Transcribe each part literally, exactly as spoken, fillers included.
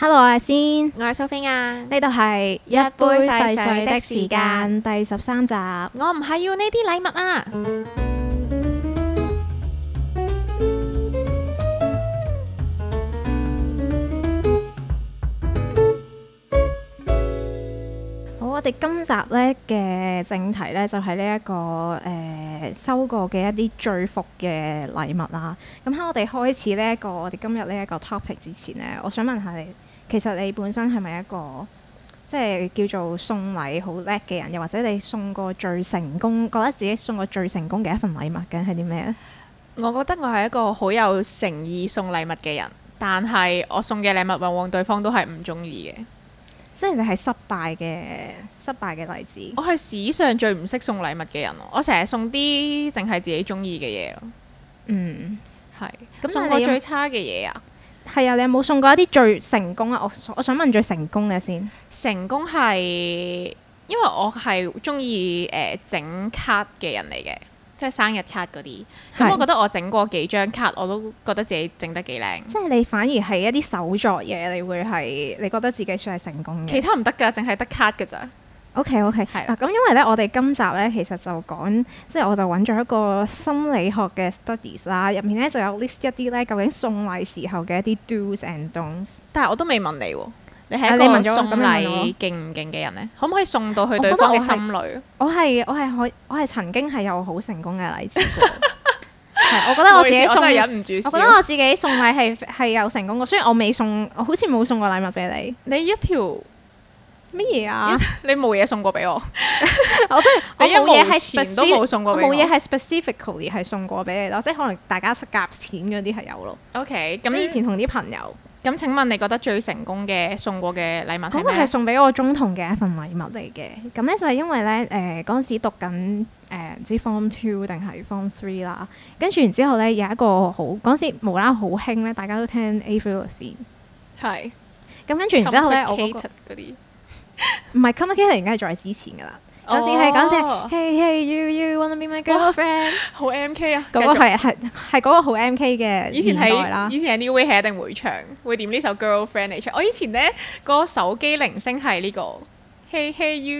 Hello，我係先， 我係蘇菲亞， 呢度係一杯廢水的時間第十三集。 我唔係要呢啲禮物啊！ 好，我哋今集呢嘅正題呢，就係呢一個誒、呃、收過嘅一啲最伏嘅禮物啦。咁喺我哋開始呢、這、一個我哋今日呢一個 topic 之前呢，我想問下你。其實你本身係咪一個即係叫做送禮好叻嘅人，又或者你送過最成功，覺得自己送過最成功嘅一份禮物嘅係啲咩咧？ 我覺得我係一個好有誠意送禮物嘅人，但係我送嘅禮物往往對方都係唔中意嘅。 即係你係失敗嘅失敗嘅例子。 我係史上最唔識送禮物嘅人，我成日送啲淨係自己中意嘅嘢咯。嗯，係。咁送過最差嘅嘢啊？ 係啊，你有冇送過一啲最成功啊？我我想問最成功嘅先。 成功係因為我係中意誒整卡嘅人嚟嘅，即係生日卡嗰啲。咁我覺得我整過幾張卡，我都覺得自己整得幾靚。即係你反而係一啲手作嘢，你會係你覺得自己算係成功嘅。 其他唔得㗎，淨係得卡㗎咋。 OK OK，係啦。咁因為咧，我哋今集咧其實就講，即係我就揾咗一個心理學嘅 studies 啦，入面咧就有 list 一啲咧究竟送禮時候嘅一啲 do's and don'ts。但係我都未問你喎，你係一個送禮勁唔勁嘅人咧？可唔可以送到去對方嘅心裏？我係我係可我係曾經係有好成功嘅例子過。係，我覺得我自己送，我真係忍唔住笑。我覺得我自己送禮係係有成功過，雖然我未送，我好似冇送過禮物俾你。你一條。乜嘢啊？ 你冇嘢送過俾我， 我真係我冇嘢係錢都冇送過俾我， 冇嘢係 specifically 係送過俾你咯，即係可能大家夾錢嗰啲係有咯。 OK，咁以前同啲朋友， 咁請問你覺得最成功嘅送過嘅禮物係咩？ 嗰個係送俾我中同嘅一份禮物嚟嘅。咁咧就係因為咧誒嗰陣時讀緊誒唔知 form two 定係 form three 啦，跟住然之後咧有一個好嗰陣時無啦好興咧，大家都聽 Avril Lavigne 係。咁跟住然之後咧我嗰個唔係 complicated 應該係再之前噶啦，嗰時係嗰陣 Hey Hey You You Wanna Be My Girlfriend， 好 M K 啊！ 嗰個係係係嗰個好 M K 嘅年代啦。 以前係 New Way 係一定會唱，會點呢首 Girlfriend 嚟唱。我以前咧個手機鈴聲係呢個 Hey Hey You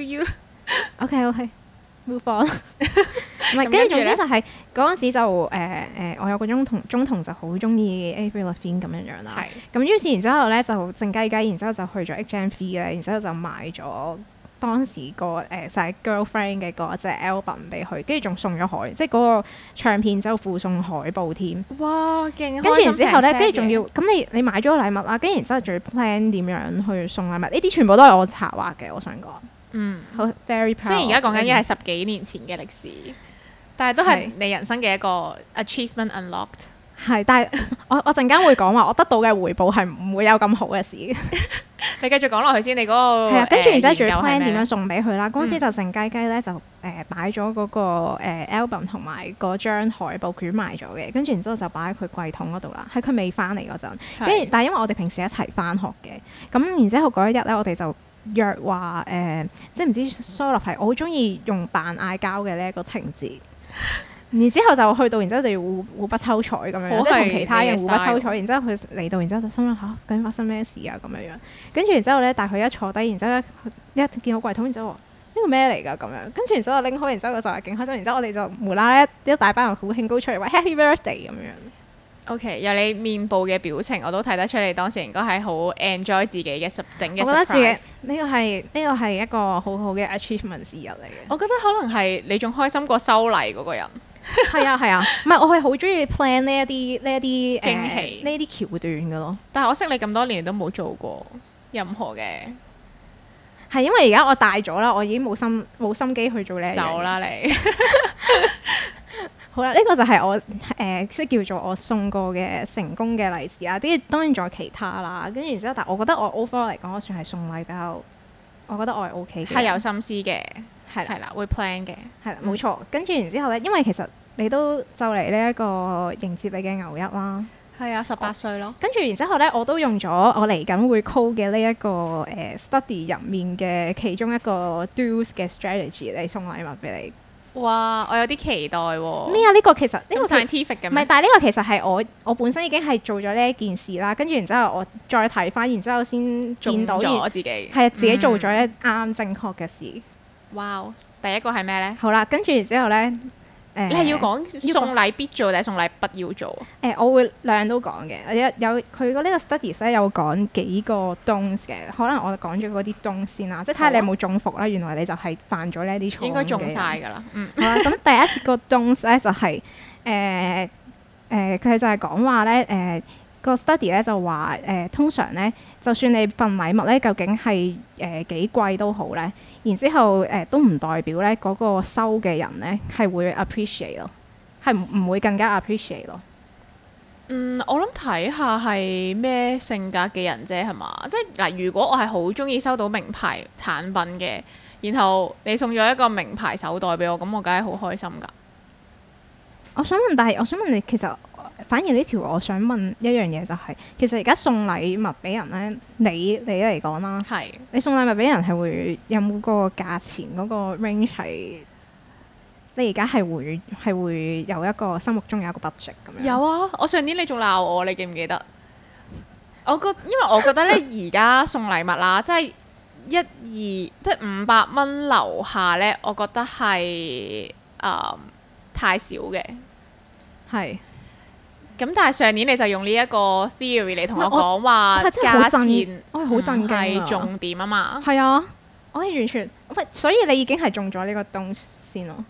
You。OK OK Move on。唔係，跟住總之就係嗰陣時就誒誒、呃呃，我有個中同中同就好中意 Avril Lavigne 咁樣樣啦。係。咁於是然之後咧就靜雞雞，然之後就去咗 H M V 咧，然之後就買咗當時個誒、呃、就係、是、Girlfriend 嘅嗰隻 album 俾佢，跟住仲送咗海，即係嗰個唱片就附送海報添。哇！勁！跟住然之後咧，跟住仲要咁你你買咗個禮物啦，跟住然之後仲要 plan 點樣去送禮物，呢啲全部都係我策劃嘅，我想講。嗯，好 very proud。雖然而家講緊嘅係十幾年前嘅歷史，但係都係你人生嘅一個 achievement unlocked。係，但係我我陣間會講話，我得到嘅回報係唔會有咁好嘅事。你繼續講落去先，你嗰個係啊，跟住然之後仲要 plan 點樣送俾佢啦。嗰陣時就靜雞雞咧，就誒擺咗嗰個誒 album 同埋嗰張海報捲埋咗嘅，跟住然之後就擺喺佢櫃桶嗰度啦。喺佢未翻嚟嗰陣，跟住但係因為我哋平時一齊翻學嘅，咁然之後嗰一日咧，我哋就約話誒、呃，即係唔知 sort of 係我好中意用扮嗌交嘅呢一個情節，然之後就去到，然之後就要互互不抽彩咁樣，即係同其他人互不抽彩。然之後佢嚟到，然之後就心諗嚇，究竟發生咩事啊咁樣樣。跟住然之後咧，但係佢一坐低，然之後一見到櫃桶，然之後話呢個咩嚟㗎咁樣。跟住然之後拎開，然之後就係勁開心。然之後我哋就無啦啦一大班人好興高出嚟話 Happy Birthday 咁樣。O.K. 由你面部嘅表情，我都睇得出你當時應該係好 enjoy 自己嘅十整嘅 surprise。我覺得自己呢個係呢個係一個好好嘅 achievement 之一嚟嘅。我覺得可能係你仲開心過收禮嗰個人。係啊係啊，唔係、啊、我係好中意 plan 呢一啲呢一啲驚喜呢啲橋段嘅咯。但係我識你咁多年都冇做過任何嘅。係因為而家我大咗啦，我已經冇心冇心機去做呢。走啦你。好啦，呢、這個就係我誒即係叫做我送過嘅成功嘅例子啊！啲當然仲有其他啦，跟住然之後，但係我覺得我 overall 嚟講，我算係送禮比較，我覺得我係 OK 嘅，係有心思嘅，係係啦，會 plan 嘅，係啦，冇錯。跟住然之後咧，因為其實你都就嚟呢一個迎接你嘅牛一啦，係啊，十八歲咯。跟住然之後咧，我都用咗我嚟緊會 call 嘅呢一個誒、呃、study 入面嘅其中一個 do's 嘅 strategy 嚟送禮物俾你。 哇！我有啲期待喎。 咩啊？呢、這個其實呢、這個 scientific 嘅，唔係， 但係呢個其實係我我本身已經係做咗呢一件事啦，跟住然之後我再睇翻，然之後先見到咗自己係啊，自己做咗一啱正確嘅事。 哇、嗯！第一個係咩咧？ 好啦，跟住然之後咧。 誒，你係要講送禮必做定係送禮不要做？誒、 呃，我會兩樣都講嘅。有有佢個呢個 studies 咧有講幾個 don'ts 嘅，可能我講咗嗰啲 don'ts 先啦，即係睇下你有冇中伏啦。原來你就係犯咗呢啲錯誤嘅。應該中晒㗎啦。嗯。好啦，咁第一個 don'ts 咧就係誒誒，佢就係講話咧誒個 study 咧就話誒、呃、通常咧，就算你份禮物咧究竟係誒幾貴都好咧。然之後誒、呃、都唔代表咧嗰、那個收嘅人咧係會 appreciate 咯，係唔唔會更加 appreciate 咯。 嗯，我諗睇下係咩性格嘅人啫，係嘛？即係嗱，如果我係好中意收到名牌產品嘅，然後你送咗一個名牌手袋俾我，咁我梗係好開心㗎。 我想問，但係我想問你，其實反而呢條我想問一樣嘢就係、是，其實而家送禮物俾人咧，你你嚟講啦，係是你送禮物俾人係會有冇個價錢嗰個 range 係？你而家係會係會有一個心目中有一個 budget 咁樣？有啊，我上年你仲鬧我，你記唔記得？我覺因為我覺得咧，而家送禮物啦，即係一二即係五百蚊樓下咧，我覺得係誒、呃、太少嘅，係。咁但係上年你就用呢一個 theory 嚟同我講話價錢，我係好震驚，係重點啊嘛。係啊，我係完全，所以你已經係中咗呢個東先咯。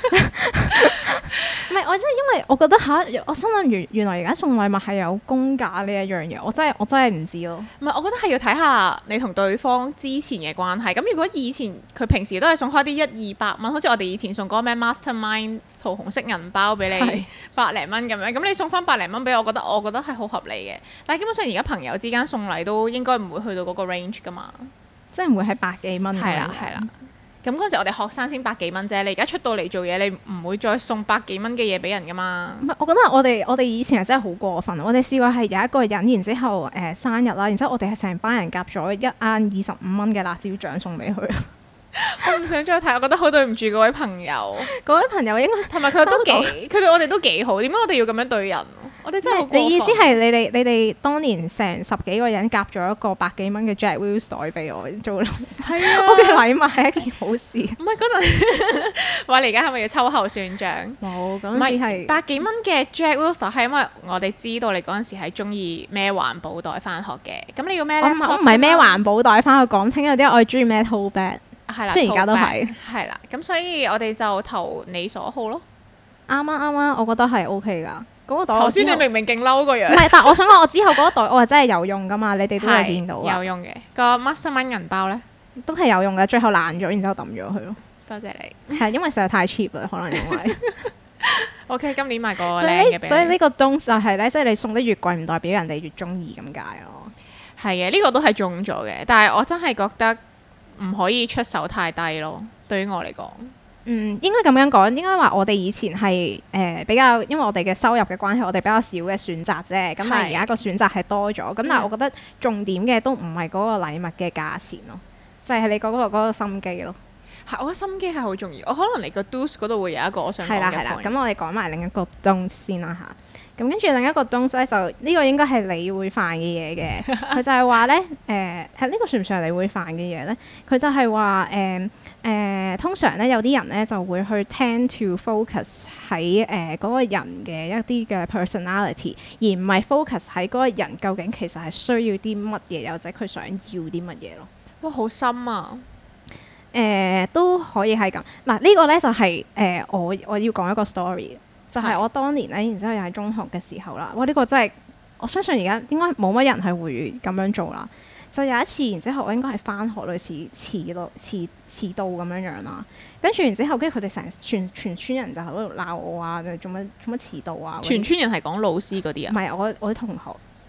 唔係，我真係因為我覺得吓，我心諗原原來而家送禮物係有公價呢一樣嘢，我真係我真係唔知咯。唔係，我覺得係要睇下你同對方之前嘅關係。咁如果以前佢平時都係送開啲一二百蚊，好似我哋以前送嗰個咩 Mastermind 桃紅色銀包俾你是百零蚊咁樣，咁你送翻百零蚊俾我，我覺得我覺得係好合理嘅。但係基本上而家朋友之間送禮都應該唔會去到嗰個 range 噶嘛，即係唔會喺百幾蚊。係啦係啦。咁嗰陣時我哋學生先百幾蚊啫，你而家出到嚟做嘢，你唔會再送百幾蚊嘅嘢俾人噶嘛？唔係，我覺得我哋我哋以前係真係好過分。我哋試過係有一個人，然之後誒、呃、生日啦，然之後我哋係成班人夾咗一罌二十五蚊嘅辣椒醬送俾佢。我唔想再睇，我覺得好對唔住嗰位朋友。嗰位朋友應該同埋佢都幾，佢對我哋都幾好。點解我哋要咁樣對人？我哋真係好過分。你意思係你哋你哋當年成十幾個人夾咗一個百幾蚊嘅 Jack Wills 袋俾我做？係啊，我嘅禮物係一件好事。唔係嗰陣話你而家係咪要秋後算賬？冇，嗰陣時係百幾蚊嘅 Jack Wills 係因為我哋知道你嗰陣時係中意孭環保袋翻學嘅。咁你要孭咧？我唔係孭環保袋翻去講清有啲我係中意孭 tote bag。係啦，雖然而家都係，係啦，咁所以我哋就投你所好咯。啱啊啱啊，我覺得係 O K 噶。嗰個袋頭先你明明勁嬲個樣。唔係，但係我想講，我之後嗰個袋我係真係有用噶嘛，你哋都會見到有用嘅。個 Mastermind 銀包咧都係有用嘅，最後爛咗，然之後抌咗佢咯。多謝你。係因為實在太 cheap 啦，可能因為。O K，今年買個靚嘅俾你。所以呢個東就係咧，即係你送得越貴，唔代表人哋越中意咁解咯。係嘅，呢個都係中咗嘅，但係我真係覺得。唔可以出手太低咯，對於我嚟講。嗯，應該咁樣講，應該話我哋以前係誒、呃、比較，因為我哋嘅收入嘅關係，我哋比較少嘅選擇啫。咁是但係而家個選擇係多咗，咁、嗯、但係我覺得重點嘅都唔係嗰個禮物嘅價錢咯，就係、是、你嗰、那個嗰、那個心機咯。係，我覺得心機係好重要。我可能你個 do's 嗰度會有一個我想講嘅 point。係啦係啦，咁我哋講埋另一個 don't 先啦嚇。咁跟住另一個 don't 咧，就呢、這個應該係你會犯嘅嘢嘅。佢就係話咧，誒係呢個算唔算係你會犯嘅嘢咧？佢就係話誒誒，通常咧有啲人咧就會去 tend to focus 喺誒嗰個人嘅一啲嘅 personality，而唔係 focus 喺嗰個人究竟其實係需要啲乜嘢，或者佢想要啲乜嘢咯。哇，好深啊！誒、呃、都可以係咁。嗱、這個、呢個咧就係、是、誒、呃、我我要講一個 story。就係我當年咧，然之後又喺中學嘅時候啦。哇！呢、這個真係我相信而家應該冇乜人係會咁樣做啦。就有一次，然之後我應該係返學類似遲到、遲遲到咁樣樣啦。跟住然之後，跟住佢哋成全全村人就喺度鬧我啊！做乜做乜遲到啊？全村人係講老師嗰啲啊？唔係我我啲同學。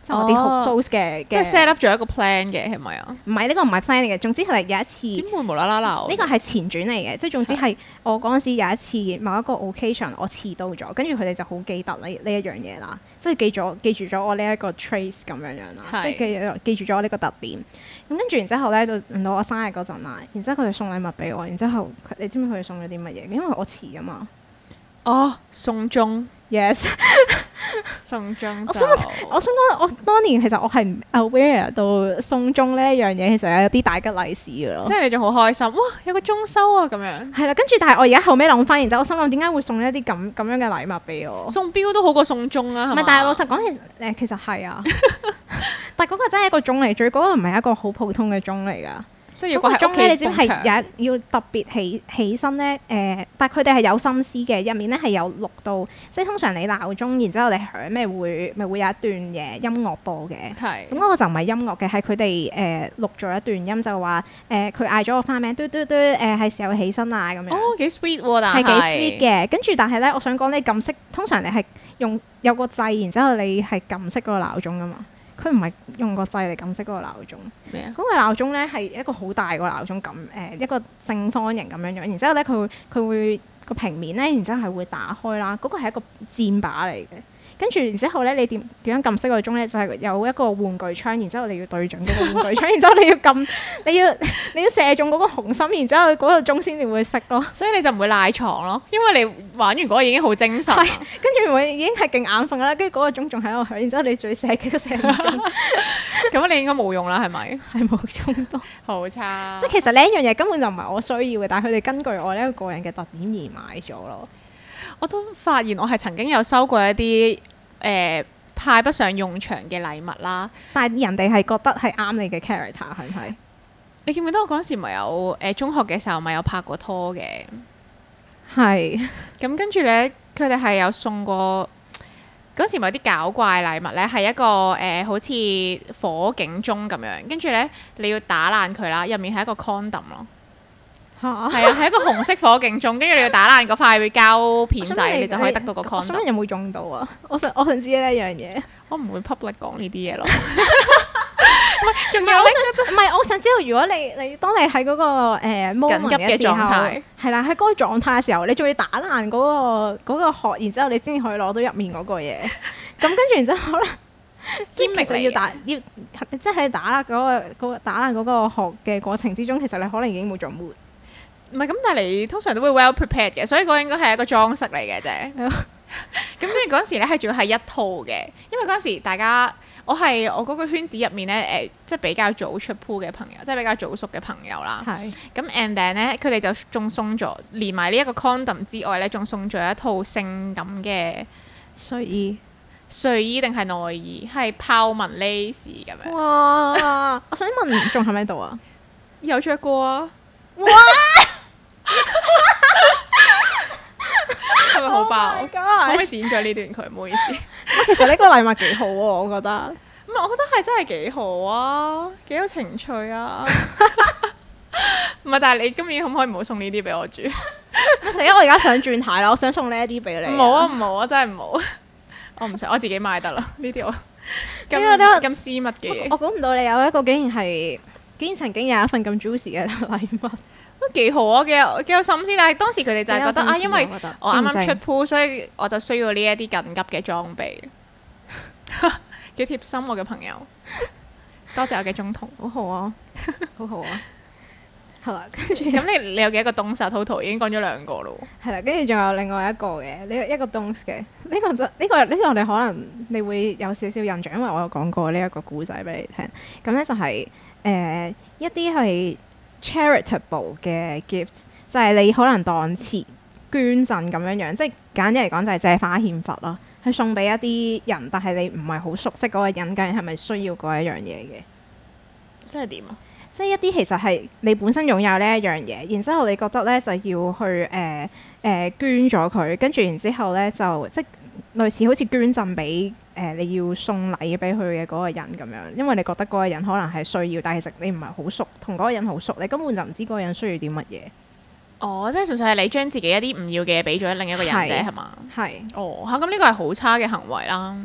即係我啲好 close 嘅， 即係 set up 咗一個 plan 嘅係咪啊？ 唔係，呢個唔係 plan 嚟嘅，總之係有一次點會無啦啦鬧？ 呢個係前傳嚟嘅，即係總之係我嗰陣時有一次某一個 occasion 我遲到咗，跟住佢哋就好記得呢呢一樣嘢啦，即係記咗記住咗我呢一個 trace 咁樣樣啦，即係記記住咗我呢個特點。咁跟住然之後咧，到輪到我生日嗰陣啦，然之後佢哋送禮物俾我，然之後你知唔知佢哋送咗啲乜嘢？因為我遲啊嘛。 哦，送鐘 ，yes， 送鐘。 我想我想講，我當年其實我係唔 aware 到送鐘呢一樣嘢，其實有啲大吉利是嘅咯。 即係你仲好開心，哇！有個鐘收啊咁樣。 係啦，跟住但係我而家後尾諗翻，然之後我心諗點解會送一啲咁咁樣嘅禮物俾我？ 送錶都好過送鐘啊，係咪？ 唔係，但係老實講，其實誒其實係啊，但係嗰個真係一個鐘嚟，最嗰個唔係一個好普通嘅鐘嚟㗎。即係要個鐘咧，你知唔知係有要特別起起身咧？誒、呃，但係佢哋係有心思嘅，入面咧係有錄到，即係通常你鬧鐘，然之後你響咩會咪會有一段嘢音樂播嘅。係是。咁嗰個就唔係音樂嘅，係佢哋誒錄咗一段音，就話誒佢嗌咗我花名，嘟嘟嘟誒係時候起身啊咁樣。哦，幾 sweet 喎，但係。係幾 sweet 嘅，跟住但係咧，我想講你撳熄，通常你係用有個掣，然之後你係撳熄嗰個鬧鐘噶嘛。佢唔係用個掣嚟撳熄嗰個鬧鐘，咩啊？嗰個鬧鐘咧係一個好大個鬧鐘，咁誒一個正方形咁樣樣，然之後咧佢會佢會個平面咧，然之後係會打開啦。嗰個係一個箭靶嚟嘅，跟住然之後咧你點點樣撳熄個鐘咧？就係有一個玩具槍，然之後你要對準嗰個玩具槍，然之後你要撳你要你要射中嗰個紅心，然之後嗰個鐘先至會熄咯。所以你就唔會賴床咯，因為你玩完嗰個已經好精神，跟住會已經係勁眼瞓啦。跟住嗰個鐘仲喺度響，然之後你再射幾個射唔中，咁你應該冇用啦，係咪？係冇用到，好差。即係其實呢一樣嘢根本就唔係我需要嘅，但係佢哋根據我呢一個個人嘅特點而買咗咯。我都發現我係曾經有收過一啲誒、呃、派不上用場嘅禮物啦，但係人哋係覺得係啱你嘅 character 係唔係？你記唔記得我嗰陣時咪有誒、呃、中學嘅時候咪有拍過拖嘅？係是。咁跟住咧，佢哋係有送過嗰陣時咪有啲搞怪禮物咧，係一個誒、呃、好似火警鐘咁樣，跟住咧你要打爛佢啦，入面係一個 condom 咯。係啊，係一個紅色火警鐘，跟住你要打爛嗰塊膠片仔，你，你就可以得到個 condom。我想問有冇用到啊？我想我想知呢一樣嘢。我唔會 public 講呢啲嘢咯。唔係，仲有咧？唔係，我想知道如果你你當你喺嗰、嗰個誒、呃、緊急嘅狀態，係啦，喺嗰個狀態嘅時候，你仲要打爛嗰、嗰個嗰、嗰個殼，然之後你先可以攞到入面嗰個嘢。咁跟住然之後咧，兼其實要打要即係你打啦嗰、嗰個、嗰個打爛嗰個殼嘅過程之中，其實你可能已經冇咗 mood。唔係咁，但係你通常都會 well prepared 嘅，所以嗰個應該係一個裝飾嚟嘅啫。咁跟住嗰陣時咧，係仲要係一套嘅，因為嗰陣時大家我係我嗰個圈子入面咧，誒、呃，即係比較早出 pool 嘅朋友，即係比較早熟嘅朋友啦。係是。咁 and then 咧，佢哋就仲送咗，連埋呢一個 condom 之外咧，仲送咗一套性感嘅睡衣。睡衣定係內衣？係豹紋 lace 咁樣。哇！我想問，仲喺唔喺度啊？有着過啊！哇！係咪好爆？可唔可以剪咗呢段佢？唔好意思。其實呢個禮物幾好喎，我覺得。唔係，我覺得係真係幾好啊，幾有情趣啊。唔係，但係你今年可唔可以唔好送呢啲俾我住？死啦！我而家想轉態啦，我想送呢一啲俾你。唔好啊，唔好啊，真係唔好。我唔想，我自己買得啦。呢啲我咁咁私密嘅嘢。我估唔到你有一個竟然係。竟然曾經有一份咁 juicy 嘅禮物，都幾好啊！幾有幾有心思，但係當時佢哋就係覺得啊，因為我啱啱出 pool，所以我就需要呢一啲緊急嘅裝備。幾貼心我嘅朋友，多謝我嘅中同，好好啊，好好啊。係啦，跟住咁你你有幾多個 don'ts total 已經講咗兩個咯。係啦，跟住仲有另外一個嘅，呢一個 don'ts 嘅，呢個就呢個呢個你可能你會有少少印象，因為我有講過呢一個故仔俾你聽。咁咧就係。誒、呃、一啲係 charitable 嘅 gift，就係你可能當錢捐贈咁樣樣，即係簡單嚟講就係借花獻佛咯，去送俾一啲人，但係你唔係好熟悉嗰個人，究竟係咪需要嗰一樣嘢嘅？即係點啊？即係一啲其實係你本身擁有呢一樣嘢，然之後你覺得咧就要去誒誒、呃呃、捐咗佢，跟住然之後咧就即係類似好似捐贈俾。誒、呃、你要送禮俾佢嘅嗰個人咁樣，因為你覺得嗰個人可能係需要，但係其實你唔係好熟，同嗰個人好熟，你根本就唔知嗰個人需要啲乜嘢。哦，即係純粹係你將自己一啲唔要嘅嘢俾咗另一個人啫，係嘛？係。哦，嚇咁呢個係好差嘅行為啦。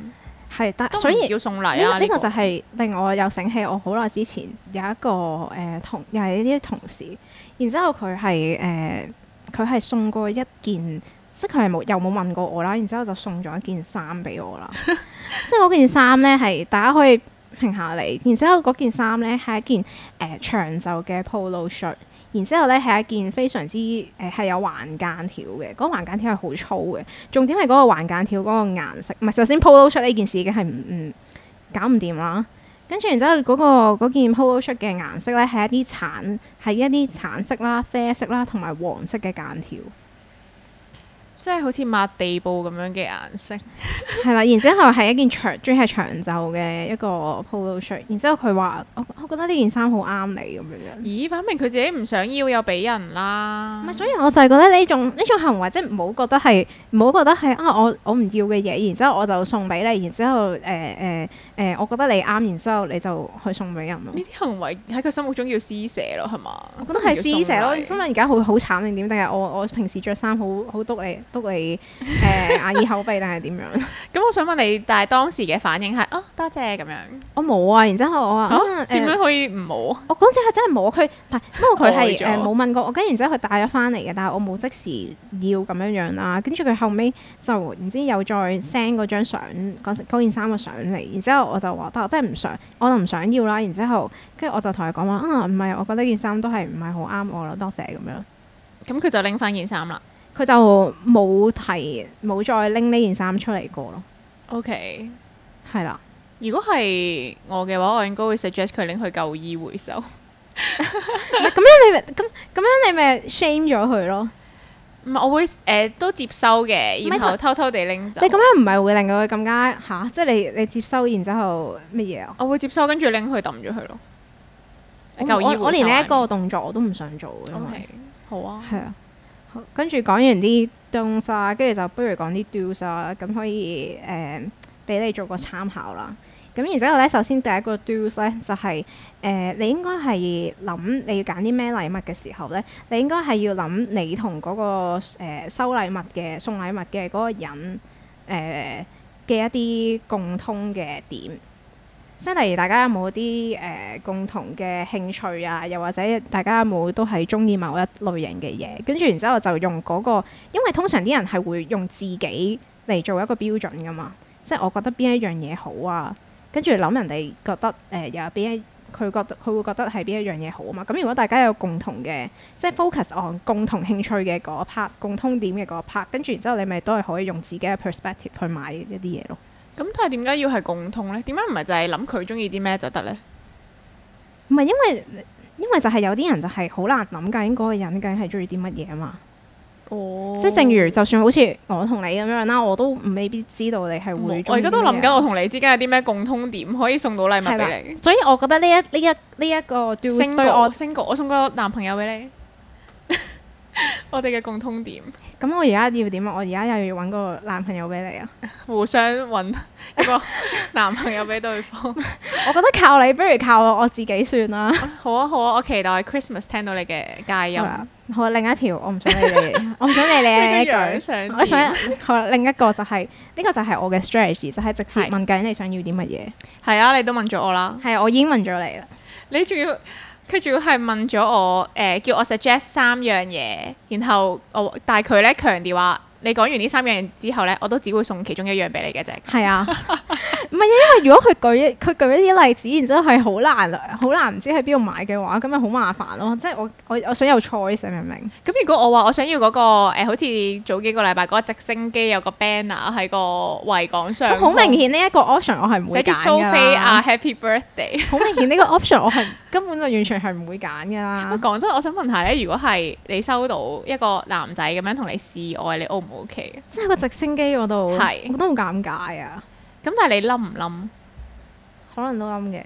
係，但所以叫送禮啊。 呢、這個呢、這個這個就係令我又醒起，我好耐之前有一個誒、呃、同又係呢啲同事，然之後佢係誒佢係送過一件，即係佢係冇又冇問過我啦，然之後就送咗一件衫俾我啦。即係嗰件衫咧係大家可以評下嚟，然之後嗰件衫咧係一件誒、呃、長袖嘅 polo shirt。然之後咧係一件非常之誒係、呃、有橫間條嘅，嗰、那個橫間條係好粗嘅。重點係嗰個橫間條嗰個顏色，唔係首先 polo shirt 呢件事已經係唔唔搞唔掂啦。跟住然之後嗰、那個件 polo shirt 嘅顏色咧係一啲橙係一啲橙色啦、啡色啦同埋黃色嘅間條。 即係好似抹地布咁樣嘅顏色， 係啦。然之後係一件長，仲係長袖嘅一個 polo shirt。然之後佢話：我我覺得呢件衫好啱你咁樣。 咦？擺明佢自己唔想要又俾人啦。 唔係，所以我就係覺得呢種呢種行為，即係唔好覺得係唔好覺得係啊！我我唔要嘅嘢，然之後我就送俾你，然之後誒誒誒，我覺得你啱，然之後你就去送俾人咯。呢啲行為喺佢心目中叫施捨咯，係嘛？ 我覺得係施捨咯。心諗而家好好慘定點？定係我我平時着衫好好督你？督你誒眼耳口鼻定係點樣？ 咁我想問你，但係當時嘅反應係啊多謝咁樣。 我冇啊，然之後我話啊點樣可以唔冇？ 我嗰陣係真係冇佢，唔係不過佢係誒冇問過我，跟住然之後佢帶咗翻嚟嘅，但係我冇即時要咁樣樣啦。跟住佢後尾就唔知又再 send 嗰張相嗰件衫嘅相嚟，然之後我就話但我真係唔想，我就唔想要啦。然之後跟住我就同佢講話啊唔係，我覺得件衫都係唔係好啱我啦，多謝咁樣。 咁佢就拎翻件衫啦。 佢就冇提冇再拎呢件衫出嚟過咯。 OK， 係啦。 如果係我嘅話，我應該會 suggest 佢拎去舊衣回收。 咁樣你咪咁咁樣你咪 shame 咗佢咯。 唔係，我會誒、呃、都接收嘅，然後偷偷地拎走。 你咁樣唔係會令到佢更加吓？即係你你接收然之後乜嘢啊？ 我會接收跟住拎去抌咗佢咯。舊衣回收。 我連呢一個動作我都唔想做。 OK，好啊。 係啊。跟住講完啲 don'ts 啊，跟住就不如講啲 do's 啊，咁可以誒俾、呃、你做個參考啦。咁然之後咧，首先第一個 do's 咧就係、是、誒、呃、你應該係諗你要揀啲咩禮物嘅時候咧，你應該係要諗你同嗰、那個、呃、收禮物嘅送禮物嘅嗰個人誒嘅、呃、一啲共通嘅點。即係例如大家有冇啲誒共同嘅興趣啊？又或者大家有冇都係中意某一類型嘅嘢？跟住然之後就用嗰個，因為通常啲人係會用自己嚟做一個標準噶嘛。即係我覺得邊一樣嘢好啊，跟住諗人哋覺得誒又有邊一佢覺得佢會覺得係邊一樣嘢好啊嘛。咁如果大家有共同嘅，即係 focus on 共同興趣嘅嗰 part、共通點嘅嗰 part，跟住然之後你咪都係可以用自己嘅 perspective 去買一啲嘢咯。 咁但係點解要係共通呢？點解唔係就係諗佢中意啲咩就得呢？ 唔係因為因為就係有啲人就係好難諗究竟嗰個人究竟係中意啲乜嘢啊嘛。哦，即係正如就算好似我同你咁樣啦，我都未必知道你係會。我而家都諗緊我同你之間有啲咩共通點可以送到禮物俾你。 所以我覺得呢一呢一呢一個 do's 對我 single，我送個男朋友俾你。我哋嘅共通點。 咁我而家要點啊？我而家又要揾個男朋友俾你啊！ 互相揾一個男朋友俾對方。 我覺得靠你，不如靠我自己算啦。 好啊好啊，我期待 Christmas 聽到你嘅佳音。 好啊，另一條我唔想理你，我唔想理你一句。我想好啦，另一個就係呢個就係我嘅 strategy，就係直接問緊你想要啲乜嘢。 係啊，你都問咗我啦。 係啊，我已經問咗你啦。 你仲要？佢仲要係問咗我，誒、呃、叫我 suggest 三樣嘢，然後我但係佢咧強調話，你講完呢三樣嘢之後咧，我都只會送其中一樣俾你嘅啫。係啊， 唔係因為如果佢舉一佢舉一啲例子，然之後係好難好難唔知喺邊度買嘅話，咁咪好麻煩咯。即係我我我想有 choice，明唔明？ 咁如果我話我想要嗰、那個、呃、好似早幾個禮拜嗰個直升機有個 banner 喺個維港上， 好明顯呢一個 option 我係唔會揀㗎啦。寫住蘇菲亞 Happy Birthday，好明顯呢個 option 我係根本就完全係唔會揀㗎啦。 講真，我想問下咧，如果係你收到一個男仔咁樣同你示愛，你 O 唔 O K？ 即係個直升機嗰度， 係我覺得好尷尬啊！ 咁但係你冧唔冧？可能都冧嘅。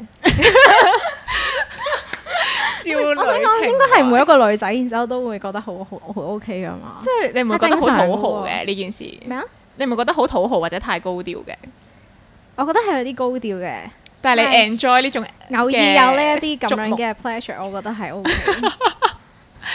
少女情， 我想講應該係每一個女仔，然之後都會覺得好好好 O K 㗎嘛。 即係你唔會覺得好討好嘅呢件事？ 咩啊？ 你唔會覺得好討好或者太高調嘅？ 我覺得係有啲高調嘅， 但係你 enjoy 呢種偶爾有呢一啲咁樣嘅 pleasure，我覺得係 O K。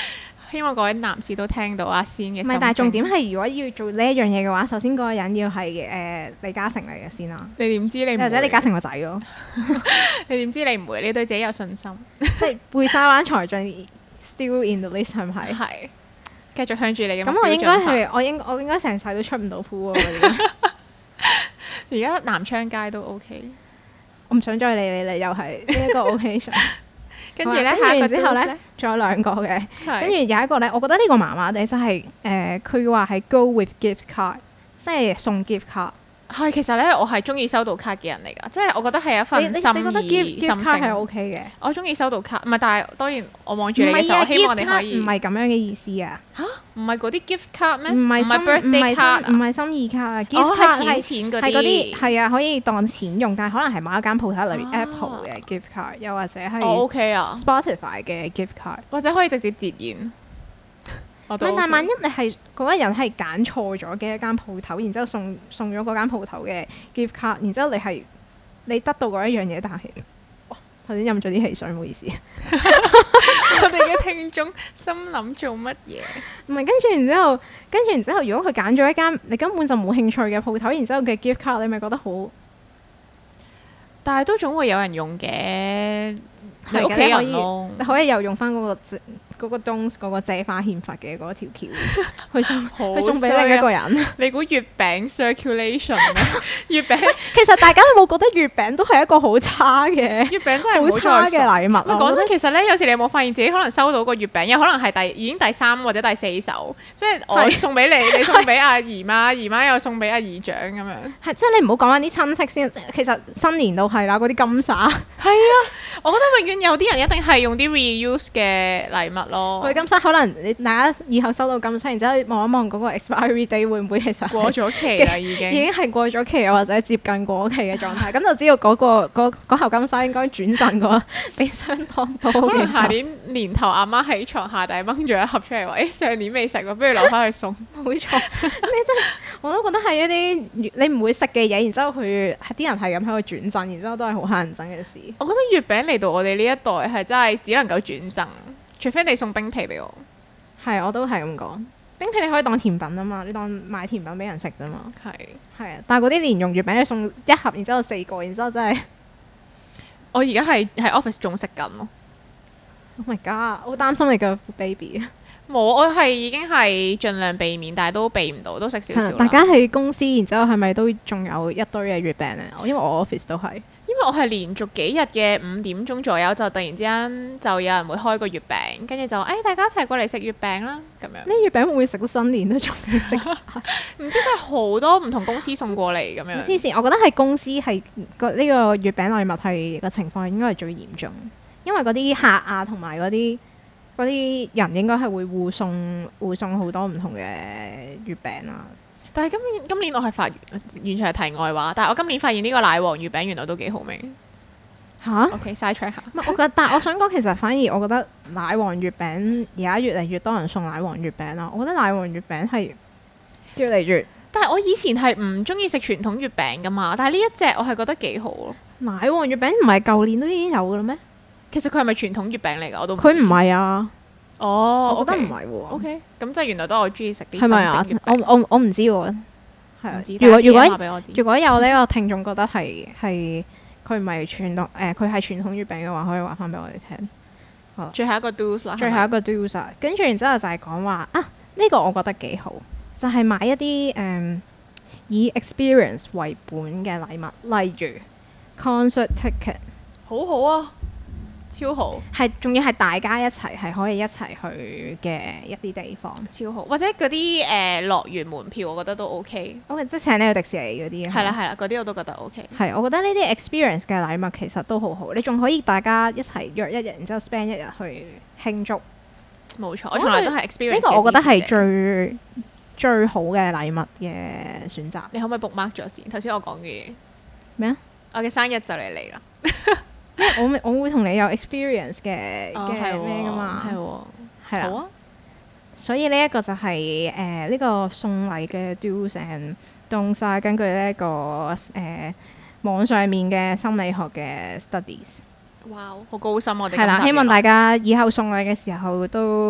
希望各位男士都聽到阿仙嘅心聲。唔係， 但係重點係如果要做呢一樣嘢嘅話，首先嗰個人要係誒、呃、李嘉誠嚟嘅先啦。 你點知你唔會？或者李嘉誠個仔咯？ 你點知你唔會？你對自己有信心。 即係貝沙灣才俊 still in the list 係咪？係。 繼續向住你嘅目標進發。 咁我應該係我應我應該成世都出唔到鋪喎。 而家南昌街都 OK。 我唔想再理你啦，又係呢一個 occasion。 跟住咧，下一個之後咧，仲有兩個嘅。跟住有一個咧，我覺得呢個麻麻地，就係誒，佢話係 go with gift card，即係送 gift card。係， 其實咧，我係中意收到卡嘅人嚟㗎，即係我覺得係一份心意。你覺得 gift gift card 係 OK 嘅？ 我中意收到卡，唔係，但係當然我望住你嘅時候，我希望你可以。 唔係咁樣嘅意思啊！ 嚇，唔係嗰啲 gift card 咩？ 唔係 birthday card， 唔係心意卡啊！gift card 係錢嗰啲， 係嗰啲係啊，可以當錢用，但係可能係某一間鋪頭，例如 Apple 嘅 gift card，又或者係 OK 啊 Spotify 嘅 gift card， 或者可以直接截然。 唔係，但係萬一你係嗰個人係揀錯咗嘅一間鋪頭，然之後送送咗嗰間鋪頭嘅 gift card，然之後你係你得到嗰一樣嘢，但係哇頭先飲咗啲汽水，唔好意思。 我哋嘅聽眾心諗做乜嘢？ 唔係，跟住然之後，跟住然之後，如果佢揀咗一間你根本就冇興趣嘅鋪頭，然之後嘅 gift card，你咪覺得好？ 但係都總會有人用嘅，你屋企人咯， 你可以又用翻嗰個嗰個東嗰個借花獻佛嘅嗰條橋，去送去送俾另一個人。你估月餅 circulation 咩？月餅其實大家都冇覺得月餅都係一個好差嘅月餅真係好差嘅禮物。 講真，其實咧有時你有冇發現自己可能收到個月餅，有可能係第已經第三或者第四手，即係我送俾你，你送俾阿姨媽，姨媽又送俾阿姨丈咁樣。 係即係你唔好講翻啲親戚先，其實新年都係啦，嗰啲金沙。 係啊，我覺得永遠有啲人一定係用啲 reuse 嘅禮物。 佢金沙可能你大家以後收到金沙，然之後望一望嗰個 expiry date 會唔會其實過咗期啦已經， 已經係過咗期或者接近過期嘅狀態，咁就知道嗰、嗰個嗰嗰盒金沙應該轉贈過俾相當多嘅。 可能下年年頭阿媽喺床下底掹咗一盒出嚟話，誒、欸、上年未食喎，不如留翻去送。 冇錯，你真係我都覺得係一啲你唔會食嘅嘢，然之後佢啲人係咁喺度轉贈，然之後都係好乞人憎嘅事。 我覺得月餅嚟到我哋呢一代係真係只能夠轉贈。除非你送冰皮俾我， 係我都係咁講。冰皮你可以當甜品啊嘛，你當買甜品俾人食啫嘛。 係係啊，但係嗰啲蓮蓉月餅你送一盒，然之後四個，然之後真係我而家係喺 office 仲食緊咯。 Oh my god！我好擔心你個 baby。 冇，我係已經係盡量避免，但係都避唔到，都食少少。 大家喺公司，然之後係咪都仲有一堆嘅月餅咧？因為我 office 都係。 因為我係連續幾日嘅五點鐘左右，就突然之間就有人會開個月餅，跟住就誒、哎、大家一齊過嚟食月餅啦咁樣。呢月餅會唔會食到新年都仲未食晒？ 唔知真係好多唔同公司送過嚟咁樣。 黐線，我覺得係公司係個呢個月餅禮物係個情況應該係最嚴重，因為嗰啲客啊同埋嗰啲嗰啲人應該係會互送互送好多唔同嘅月餅啊。 但係今年今年我係發完全係題外話，但係我今年發現呢個奶黃月餅原來都幾好味嚇。 OK，side track 下。 我覺得，但係我想講，其實反而我覺得奶黃月餅而家越嚟越多人送奶黃月餅啦。我覺得奶黃月餅係越嚟越， 但係我以前係唔中意食傳統月餅噶嘛，但係呢一隻我係覺得幾好咯。 奶黃月餅唔係舊年都已經有嘅啦咩？ 其實佢係咪傳統月餅嚟㗎？我都佢唔係啊。 哦， 我覺得唔係喎。 O K，咁即係原來都係我中意食啲係咪啊？我我我唔知喎。係啊。 如果如果如果有呢個聽眾覺得係係佢唔係傳統誒，佢係傳統月餅嘅話，可以話翻俾我哋聽。好。最後一個 do's 啦。最後一個 do's 啊，跟住然之後就係講話啊，呢個我覺得幾好，就係買一啲誒以 experience 為本嘅禮物，例如 concert ticket。好好啊！超好，係仲要係大家一齊係可以一齊去嘅一啲地方， 超好。或者嗰啲誒樂園門票，我覺得都 OK。 OK，即係請你去迪士尼嗰啲。 係啦係啦，嗰啲我都覺得 OK。 係，我覺得呢啲 experience 嘅禮物其實都好好。你仲可以大家一齊約一日，然之後 spend 一日去慶祝。冇錯，我從來都係 experience。呢個我覺得係最最好嘅禮物嘅選擇。你可唔可以 book mark 咗先？頭先我講嘅嘢咩啊？我嘅生日就嚟嚟啦。我我會同你有 experience 嘅嘅咩噶嘛，係喎，係啦，好啊。所以呢一個就係誒呢個送禮嘅 do's and don'ts，根據呢、這、一個誒、呃、網上面嘅心理學嘅 studies。哇，好高深我哋係啦，希望大家以後送禮嘅時候都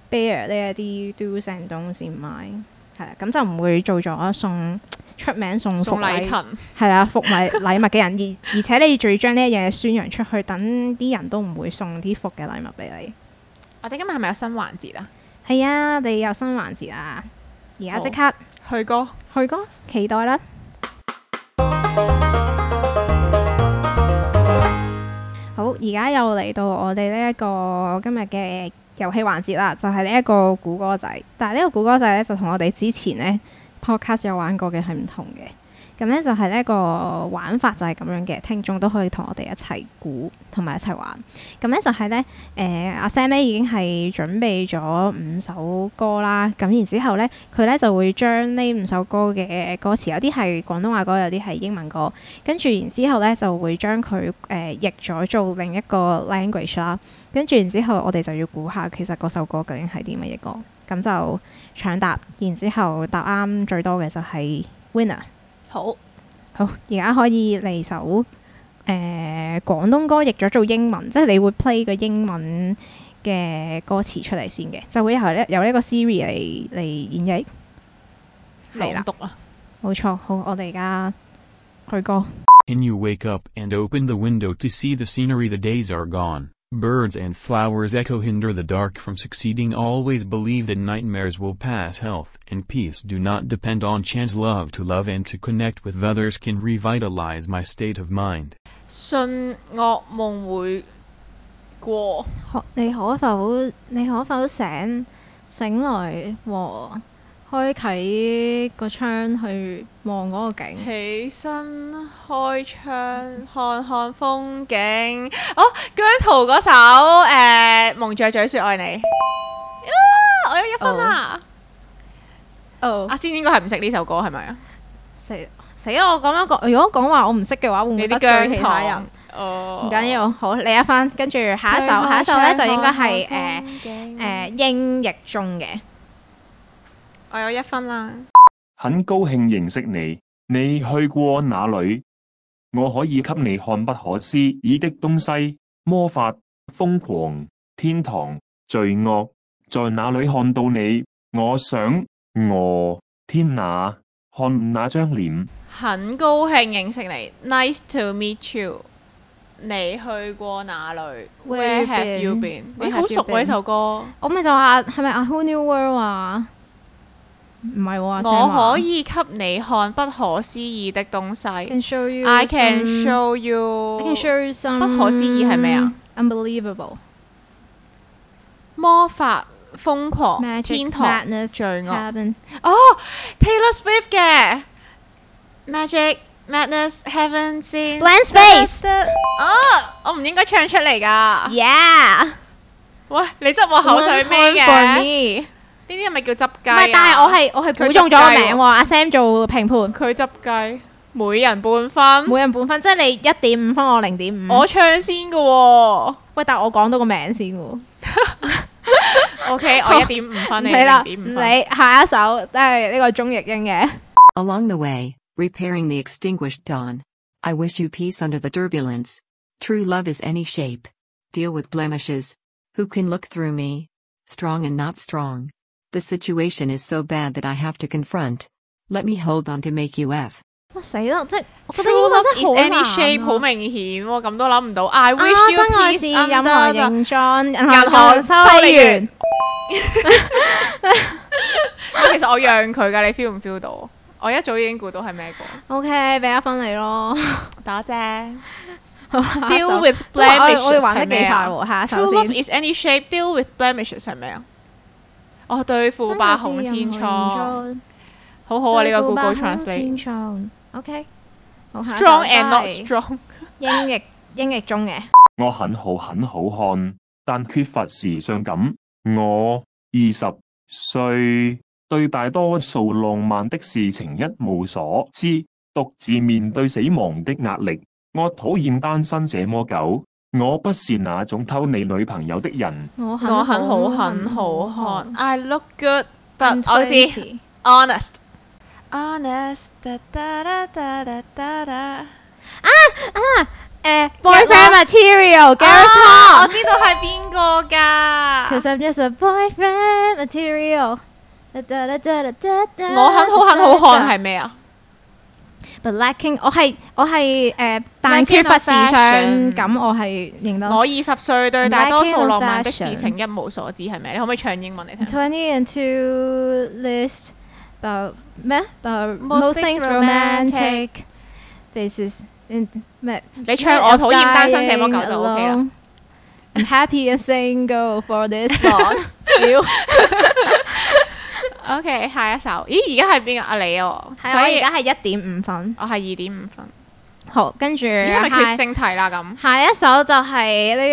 bear 呢一啲 do's and don'ts先買，係啦，咁就唔會做咗送出名送福禮勤，係啦，福禮禮物嘅人，而而且你仲要將呢一樣嘢宣揚出去，等啲人都唔會送啲福嘅禮物俾你。 我哋今日係咪有新環節啊？ 係啊，我哋有新環節啊！而家即刻去歌， 去歌，期待啦！好，而家又嚟到我哋呢一個今日嘅遊戲環節啦，就係呢一個估歌仔。但係呢個估歌仔咧，就同我哋之前呢 podcast 有玩過嘅係唔同嘅。咁咧就係呢一個玩法就係咁樣嘅，聽眾都可以同我哋一齊估同埋一齊玩。咁咧就係咧，誒、呃、阿 Sam 咧已經係準備咗五首歌啦。咁然之後咧，佢咧就會將呢五首歌嘅歌詞，有啲係廣東話歌，有啲係英文歌。跟住然之後咧，就會將佢誒譯咗做另一個 language 啦。跟住然之後，我哋就要估下其實嗰首歌究竟係啲乜嘢歌。咁就搶答，然之後答啱最多嘅就係 winner。好，好，而家可以嚟首誒、呃、廣東歌譯咗做英文，即係你會 play 個英文嘅歌詞出嚟先嘅，就會由呢由呢個 Siri 嚟嚟演繹。係啦，冇錯，好，我哋而家去歌。 Can you wake up and open the window to see the scenery? The days are gone. Birds and flowers echo, hinder the dark from succeeding. Always believe that nightmares will pass. Health and peace do not depend on chance. Love to love and to connect with others can revitalize my state of mind. 信惡夢會過， 你可否你可否醒醒來和開啟個窗去望嗰個景， 起身開窗看看風景。哦，姜濤嗰首誒、呃、蒙着嘴說愛你，啊，我有一分啦。哦，阿仙應該係唔識呢首歌係咪啊？ 死死啦！我咁樣講，如果講話我唔識嘅話，會唔會得罪其他人？哦，唔緊要，好，你一分。跟住下一首，下一首咧就應該係誒誒英譯中嘅。 我有一分啦。 很高興認識你，你去過哪裡？我可以給你看不可思議的東西，魔法、瘋狂、天堂、罪惡，在哪裡看到你？我想，我天哪，看那張臉。 很高興認識你 ，Nice to meet you。你去過哪裡 ？Where have you been？ 你好熟喎呢首歌。 我咪就話係咪 A Whole New World 啊？唔係喎， 我可以給你看不可思議的東西。I can show you. I can show you. I can show you some. 不可思議係咩啊 ？Unbelievable. 魔法、瘋狂、 Magic, 天堂、 madness, 罪惡。 Heaven. 哦 ，Taylor Swift 嘅 Magic, Madness, Heaven, Sin, Blank Space。 哦，我唔應該唱出嚟㗎。 Yeah。 喂，你執我口水咩嘅？呢啲係咪叫執雞啊？ 唔係，但係我係我係估中咗個名喎。阿 Sam 做評判， 佢執雞，每人半分， 每人半分，即係你一點五分，我零點五。 我唱先嘅喎。喂， 但係我講到個名先喎。 O K， 我一點五分，你零點五分。 你下一首都係呢個中譯英嘅。 Along the way, repairing the extinguished dawn. I wish you peace under the turbulence. True love is any shape. Deal with blemishes. Who can look through me? Strong and not strong.The situation is so bad that I have to confront. Let me hold on to make you F. 哇死啦！即係我覺得 True 英文 love 真係好 is 難 any shape 好明顯喎，咁都諗唔到。I wish 啊 you 真愛 peace 是任何 under 形狀，銀銀行修理員。 其實我讓佢㗎，你 feel 唔 feel 到？我一早已經估到係咩歌。 OK，俾一分你咯。 多謝。 好 Deal with blemishes 我哋玩得幾快喎， 下一首 True 先。 love is any shape. Deal with blemishes 係咩啊？哦，對付吧紅千瘡。好好啊！呢個 Google Translate。OK。Strong and not strong。 英譯英譯中嘅。 我很好很好看，但缺乏時尚感。我二十歲，對大多數浪漫的事情一無所知，獨自面對死亡的壓力。我討厭單身這麼久。我不是那種偷你女朋友的人。 我很好很好看。I look good, but 我知 honest。honest 噠噠噠噠噠噠噠。 啊啊誒 boyfriend material Gareth Tom， 我知道係邊個㗎。 Cause I'm just a boyfriend material。 我很好很好看係咩啊 ？But lacking，我係我係誒，但缺乏時尚感，我係認得。 我二十歲對大多數浪漫的事情一無所知係咩？你可唔可以唱英文嚟聽 ？Twenty and two list about 咩？About most things romantic faces in 咩？ 你唱我討厭單身這麼久就 OK 啦。 I'm happy and single for this long。 OK， 下一首，咦，而家係邊個啊？你哦， 所以而家係一點五分， 我係二點五分。 好，跟住係咪決勝題啦？咁下一首就係呢、這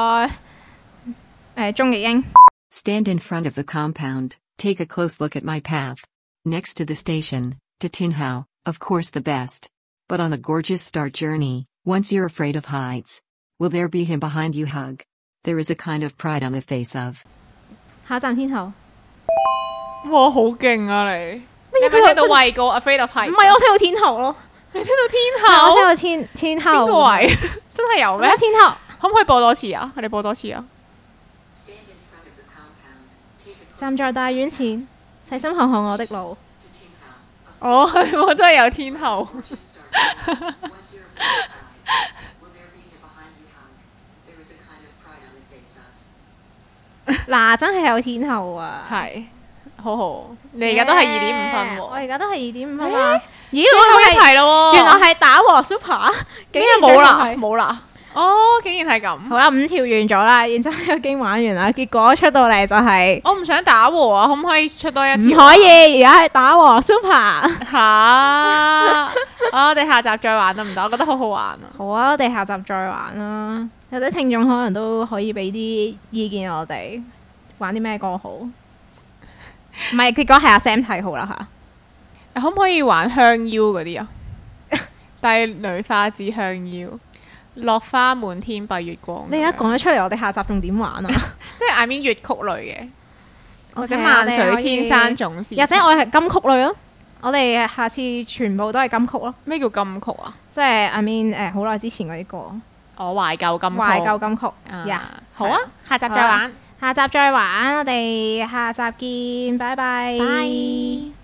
個誒鍾逸英。 Stand in front of the compound, take a close look at my path. Next to the station, to Tinhow, of course the best. But on a gorgeous start journey, once you're afraid of heights, will there be him behind you hug? There is a kind of pride on the face of. 下一站天后。 哇，好勁啊你！你有冇聽到畏高 Afraid of Heights？ 唔係，我聽到天后咯。 你聽到天后？ 我聽到天天后。邊個位？真係有咩？ 天后。 可唔可以播多次啊？我哋播多次啊！ 站在大院前，細心看看我的路。 哦，係我真係有天后。 嗱，真係有天后啊！ 係。好好，你而家都係二點五分喎。 我而家都係二點五分啊！咦， 我係題咯， 原來係打和 Super， 竟然冇啦，冇啦。哦，竟然係咁。好啦，五條完咗啦，然之後已經玩完啦。結果出到嚟就係， 我唔想打和啊，可唔可以出多一條？ 唔可以，而家係打和 Super。 嚇！我哋下集再玩得唔得？我覺得好好玩啊。 好啊，我哋下集再玩啦。有啲聽眾可能都可以俾啲意見我哋玩啲咩歌好。唔係，結果係阿 Sam 睇好啦吓。 可唔可以玩香腰嗰啲啊？帝女花之香腰，落花滿天蔽月光。 你而家講咗出嚟，我哋下集仲點玩啊？ 即係 I mean 粵曲類嘅， okay，或者萬水千山總是。 或者我係金曲類咯。我哋下次全部都係金曲咯。 咩叫金曲啊？ 即係 I mean 誒好耐之前嗰啲歌。 哦，懷舊金曲。 懷舊金曲。 呀，好啊，下集再玩。 下集再玩，我哋下集見，拜拜。 拜。